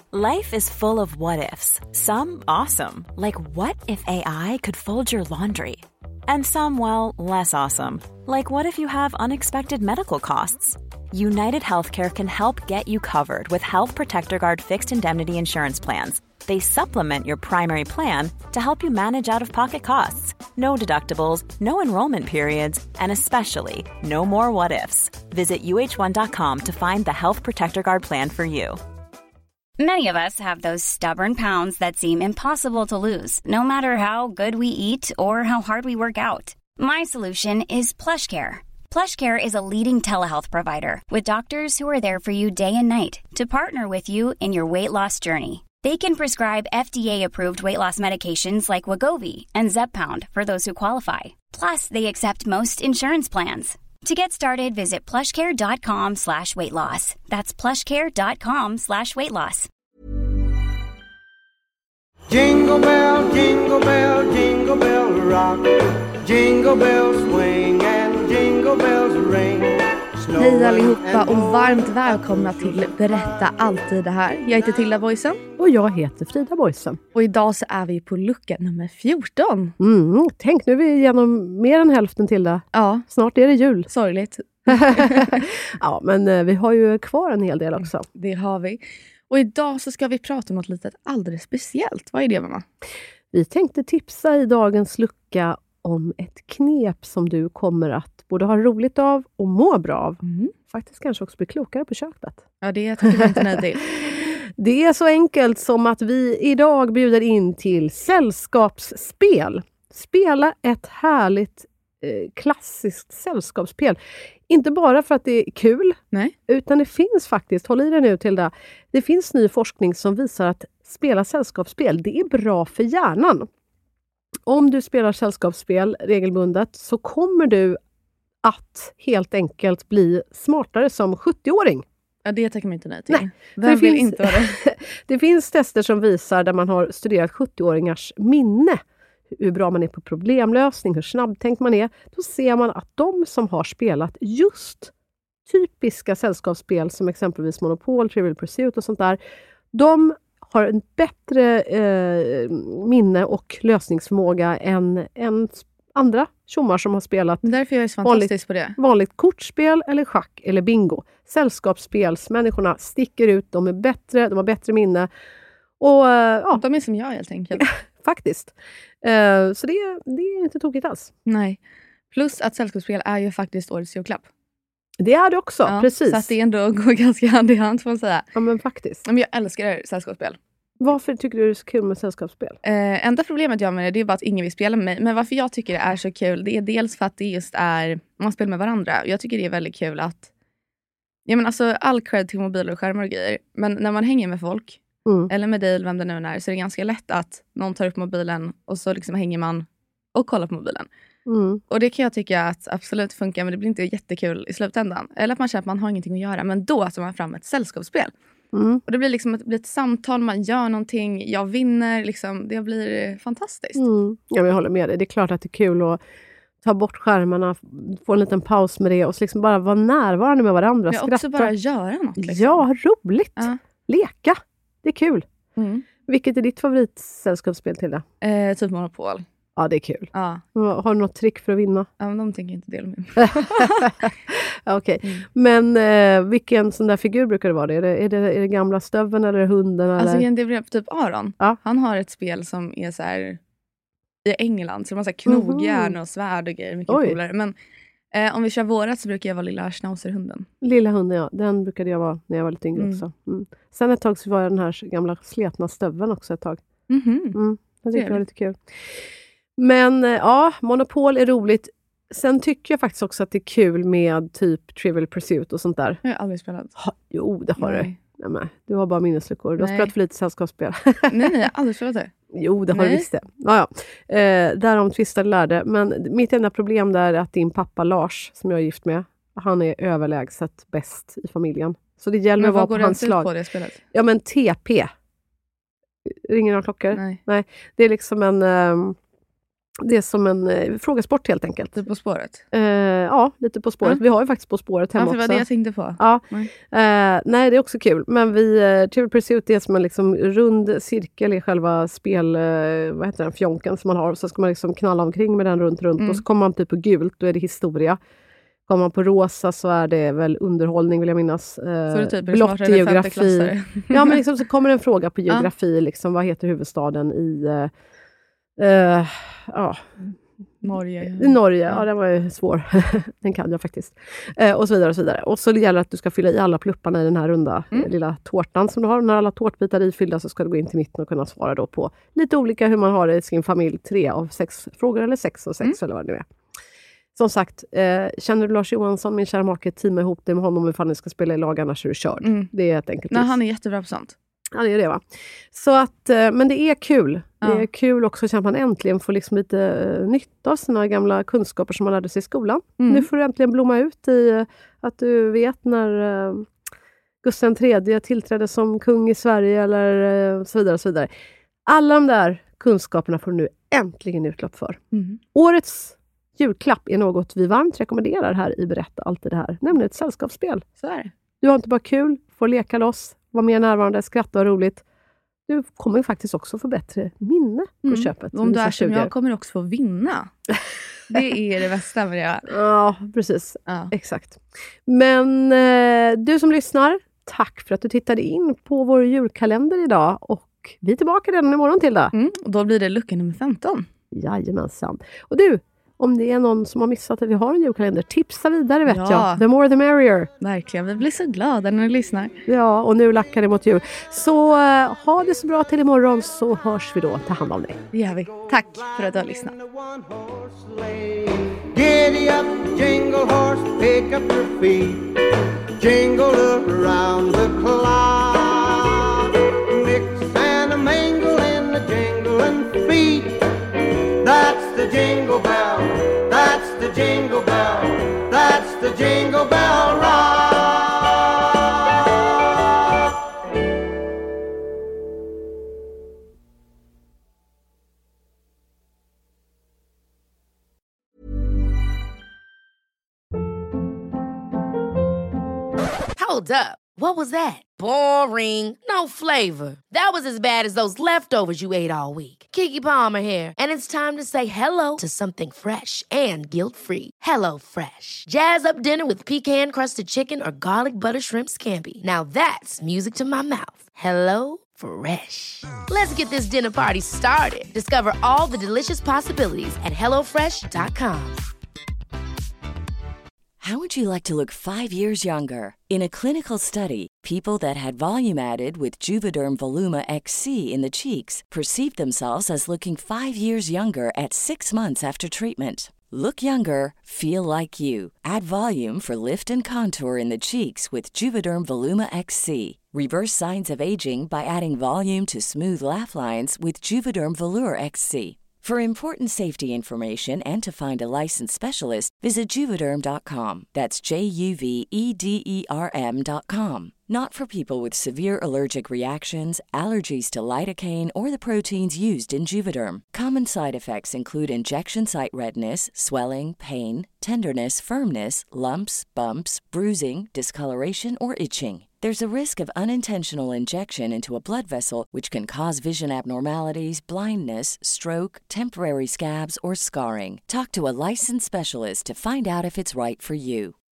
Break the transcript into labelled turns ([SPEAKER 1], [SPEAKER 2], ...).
[SPEAKER 1] Life is full of what-ifs. Some awesome, like what if AI could fold your laundry? And some, well, less awesome, like what if you have unexpected medical costs? United Healthcare can help get you covered with Health Protector Guard fixed indemnity insurance plans. They supplement your primary plan to help you manage out-of-pocket costs. No deductibles, no enrollment periods, and especially no more what-ifs. Visit uh1.com to find the Health Protector Guard plan for you.
[SPEAKER 2] Many of us have those stubborn pounds that seem impossible to lose, no matter how good we eat or how hard we work out. My solution is PlushCare. PlushCare is a leading telehealth provider with doctors who are there for you day and night to partner with you in your weight loss journey. They can prescribe FDA-approved weight loss medications like Wegovy and Zepbound for those who qualify. Plus, they accept most insurance plans. To get started, visit plushcare.com/weightloss. That's plushcare.com/weightloss.
[SPEAKER 3] Jingle bell, jingle bell, jingle bell rock. Jingle bells swing and jingle bells ring.
[SPEAKER 4] Hej allihopa och varmt välkomna till Berätta alltid det här. Jag heter Tilda Boysen.
[SPEAKER 5] Och jag heter Frida Boysen.
[SPEAKER 4] Och idag så är vi på lucka nummer 14.
[SPEAKER 5] Tänk, nu är vi igenom mer än hälften till det.
[SPEAKER 4] Ja.
[SPEAKER 5] Snart är det jul.
[SPEAKER 4] Sorgligt.
[SPEAKER 5] Ja, men vi har ju kvar en hel del också.
[SPEAKER 4] Det har vi. Och idag så ska vi prata om något litet alldeles speciellt. Vad är det, mamma?
[SPEAKER 5] Vi tänkte tipsa i dagens lucka om ett knep som du kommer att både ha roligt av och må bra av. Faktiskt kanske också bli klokare på köpet.
[SPEAKER 4] Ja, det tycker jag inte nej till.
[SPEAKER 5] Det är så enkelt som att vi idag bjuder in till sällskapsspel. Spela ett härligt klassiskt sällskapsspel. Inte bara för att det är kul, utan det finns faktiskt, håll i det nu till det finns ny forskning som visar att spela sällskapsspel, det är bra för hjärnan. Om du spelar sällskapsspel regelbundet så kommer du att helt enkelt bli smartare som 70-åring.
[SPEAKER 4] Ja, det tackar man inte nej till.
[SPEAKER 5] Nej,
[SPEAKER 4] Vem vill inte vara det?
[SPEAKER 5] Det finns tester som visar där man har studerat 70-åringars minne. Hur bra man är på problemlösning, hur snabbtänkt man är. Då ser man att de som har spelat just typiska sällskapsspel som exempelvis Monopol, Trivial Pursuit och sånt där. De har en bättre minne och lösningsförmåga än andra tjommar som har spelat
[SPEAKER 4] därför jag är så fantastisk på det.
[SPEAKER 5] Vanligt kortspel eller schack eller bingo. Sällskapsspelsmänniskorna sticker ut, de är bättre, de har bättre minne. Och,
[SPEAKER 4] de är som jag helt enkelt.
[SPEAKER 5] Faktiskt. Så det är inte tokigt alls.
[SPEAKER 4] Nej. Plus att sällskapsspel är ju faktiskt årets julklapp.
[SPEAKER 5] Det är det också, precis.
[SPEAKER 4] Så att det ändå går ganska hand i hand får man säga.
[SPEAKER 5] Ja, men faktiskt.
[SPEAKER 4] Men jag älskar sällskapsspel.
[SPEAKER 5] Varför tycker du det är så kul med sällskapsspel?
[SPEAKER 4] Enda problemet jag med det är bara att ingen vill spela med mig. Men varför jag tycker det är så kul, det är dels för att det just är, man spelar med varandra. Jag tycker det är väldigt kul att, ja men alltså all cred till mobiler och skärmar och grejer. Men när man hänger med folk, eller med dig eller vem det nu är, så är det ganska lätt att någon tar upp mobilen och så liksom hänger man och kollar på mobilen. Och det kan jag tycka att absolut funkar, men det blir inte jättekul i slutändan. Eller att man känner att man har ingenting att göra, men då tar man fram ett sällskapsspel. Och det blir liksom ett samtal, man gör någonting, jag vinner, liksom, det blir fantastiskt.
[SPEAKER 5] Ja, men jag håller med dig. Det är klart att det är kul att ta bort skärmarna, få en liten paus med det och så liksom bara vara närvarande med varandra.
[SPEAKER 4] Ja, också bara göra något. Liksom.
[SPEAKER 5] Ja, roligt. Leka. Det är kul. Vilket är ditt favoritsällskapsspel till det?
[SPEAKER 4] Typ Monopol.
[SPEAKER 5] Ja, det är kul.
[SPEAKER 4] Ja.
[SPEAKER 5] Har du något trick för att vinna?
[SPEAKER 4] Ja, men de tänker inte dela med.
[SPEAKER 5] Okej. Men vilken sån där figur brukar det vara? Är det gamla stöven eller hunden?
[SPEAKER 4] Alltså
[SPEAKER 5] eller?
[SPEAKER 4] det är typ Aron.
[SPEAKER 5] Ja.
[SPEAKER 4] Han har ett spel som är så här i England. Så de har så här knogjärn och svärd och grejer. Mycket coolare. Men om vi kör vårat så brukar jag vara lilla schnauserhunden.
[SPEAKER 5] Lilla hunden, ja. Den brukade jag vara när jag var lite yngre också. Sen ett tag så var jag den här gamla sletna stöven också ett tag. Jag tycker det var lite kul. Men ja, Monopol är roligt. Sen tycker jag faktiskt också att det är kul med typ Trivial Pursuit och sånt där.
[SPEAKER 4] Jag har aldrig spelat.
[SPEAKER 5] Jo, det har du. Nej, du har bara minnesluckor. Du har spelat för lite sällskapsspel.
[SPEAKER 4] Nej, jag har aldrig spelat det.
[SPEAKER 5] Jo, det har du visst det. Ja. Därom tvistade lärde. Men mitt enda problem där är att din pappa Lars, som jag är gift med, han är överlägset bäst i familjen. Så det gäller att vara på hans lag.
[SPEAKER 4] Men vad går det ut på det spelet?
[SPEAKER 5] Ja, men TP. Ringer några klockor?
[SPEAKER 4] Nej.
[SPEAKER 5] Det är liksom en... Det är som en frågesport helt enkelt.
[SPEAKER 4] Typ På spåret?
[SPEAKER 5] Ja, lite På spåret. Vi har ju faktiskt På spåret hemma också.
[SPEAKER 4] Ja, det var det jag tänkte på.
[SPEAKER 5] Ja. Nej, det är också kul. Men Trivial Pursuit är som en liksom rund cirkel i själva vad heter den, fjonken som man har. Så ska man liksom knalla omkring med den runt. Och så kommer man typ på gult, då är det historia. Kommer man på rosa så är det väl underhållning, vill jag minnas.
[SPEAKER 4] Så det typ
[SPEAKER 5] blått är geografi. Ja, men liksom så kommer en fråga på geografi. Liksom, vad heter huvudstaden i...
[SPEAKER 4] Norge.
[SPEAKER 5] Ja, den var ju svår. Den kan jag faktiskt. Och så vidare och så vidare. Och så gäller det att du ska fylla i alla plupparna i den här runda lilla tårtan som du har. När alla tårtbitar är ifyllda så ska du gå in till mitten och kunna svara då på lite olika hur man har det i sin familj. 3 av 6 frågor eller 6 av 6 eller vad det nu är. Som sagt, känner du Lars Johansson, min kära make, teama ihop det med honom ifall ni ska spela i lag, annars är du körd. Det är helt enkelt.
[SPEAKER 4] Nej, han är jättebra på sånt.
[SPEAKER 5] Ja, det är det, va? Så att, men det är kul. Det är kul också att man äntligen får liksom lite nytta av sina gamla kunskaper som man lärde sig i skolan. Nu får du äntligen blomma ut i att du vet när Gustav III tillträdde som kung i Sverige eller så vidare och så vidare. Alla de där kunskaperna får du nu äntligen utlopp för. Årets julklapp är något vi varmt rekommenderar här i Berätta alltid det här. Nämligen ett sällskapsspel.
[SPEAKER 4] Så är det.
[SPEAKER 5] Du har inte bara kul, får leka loss, vara mer närvarande, skratta och roligt. Du kommer faktiskt också få bättre minne på köpet.
[SPEAKER 4] Om du är som jag kommer också få vinna. Det är det bästa med det.
[SPEAKER 5] Ja, precis. Ja. Exakt. Men du som lyssnar, tack för att du tittade in på vår julkalender idag. Och vi är tillbaka redan imorgon till det.
[SPEAKER 4] Och då blir det lucka nummer 15.
[SPEAKER 5] Jajamensan. Och du, om det är någon som har missat att vi har en julkalender, tipsa vidare vet jag. The more the merrier.
[SPEAKER 4] Verkligen, vi blir så glada när ni lyssnar.
[SPEAKER 5] Ja, och nu lackar det mot jul. Så ha det så bra till imorgon så hörs vi då. Ta hand om dig.
[SPEAKER 4] Det gör vi. Tack för att du har lyssnat.
[SPEAKER 3] Giddy up, jingle horse, pick up your feet. Jingle around the clock. Mix and a mingle in the jingling feet. That's the jingle bell, that's the jingle bell, that's the jingle bell rock.
[SPEAKER 6] Hold up. What was that? Boring. No flavor. That was as bad as those leftovers you ate all week. Keke Palmer here, and it's time to say hello to something fresh and guilt-free. Hello Fresh. Jazz up dinner with pecan-crusted chicken or garlic butter shrimp scampi. Now that's music to my mouth. Hello Fresh. Let's get this dinner party started. Discover all the delicious possibilities at hellofresh.com.
[SPEAKER 7] How would you like to look 5 years younger? In a clinical study, people that had volume added with Juvederm Voluma XC in the cheeks perceived themselves as looking 5 years younger at 6 months after treatment. Look younger, feel like you. Add volume for lift and contour in the cheeks with Juvederm Voluma XC. Reverse signs of aging by adding volume to smooth laugh lines with Juvederm Volure XC. For important safety information and to find a licensed specialist, visit Juvederm.com. That's JUVEDERM.com. Not for people with severe allergic reactions, allergies to lidocaine, or the proteins used in Juvederm. Common side effects include injection site redness, swelling, pain, tenderness, firmness, lumps, bumps, bruising, discoloration, or itching. There's a risk of unintentional injection into a blood vessel, which can cause vision abnormalities, blindness, stroke, temporary scabs, or scarring. Talk to a licensed specialist to find out if it's right for you.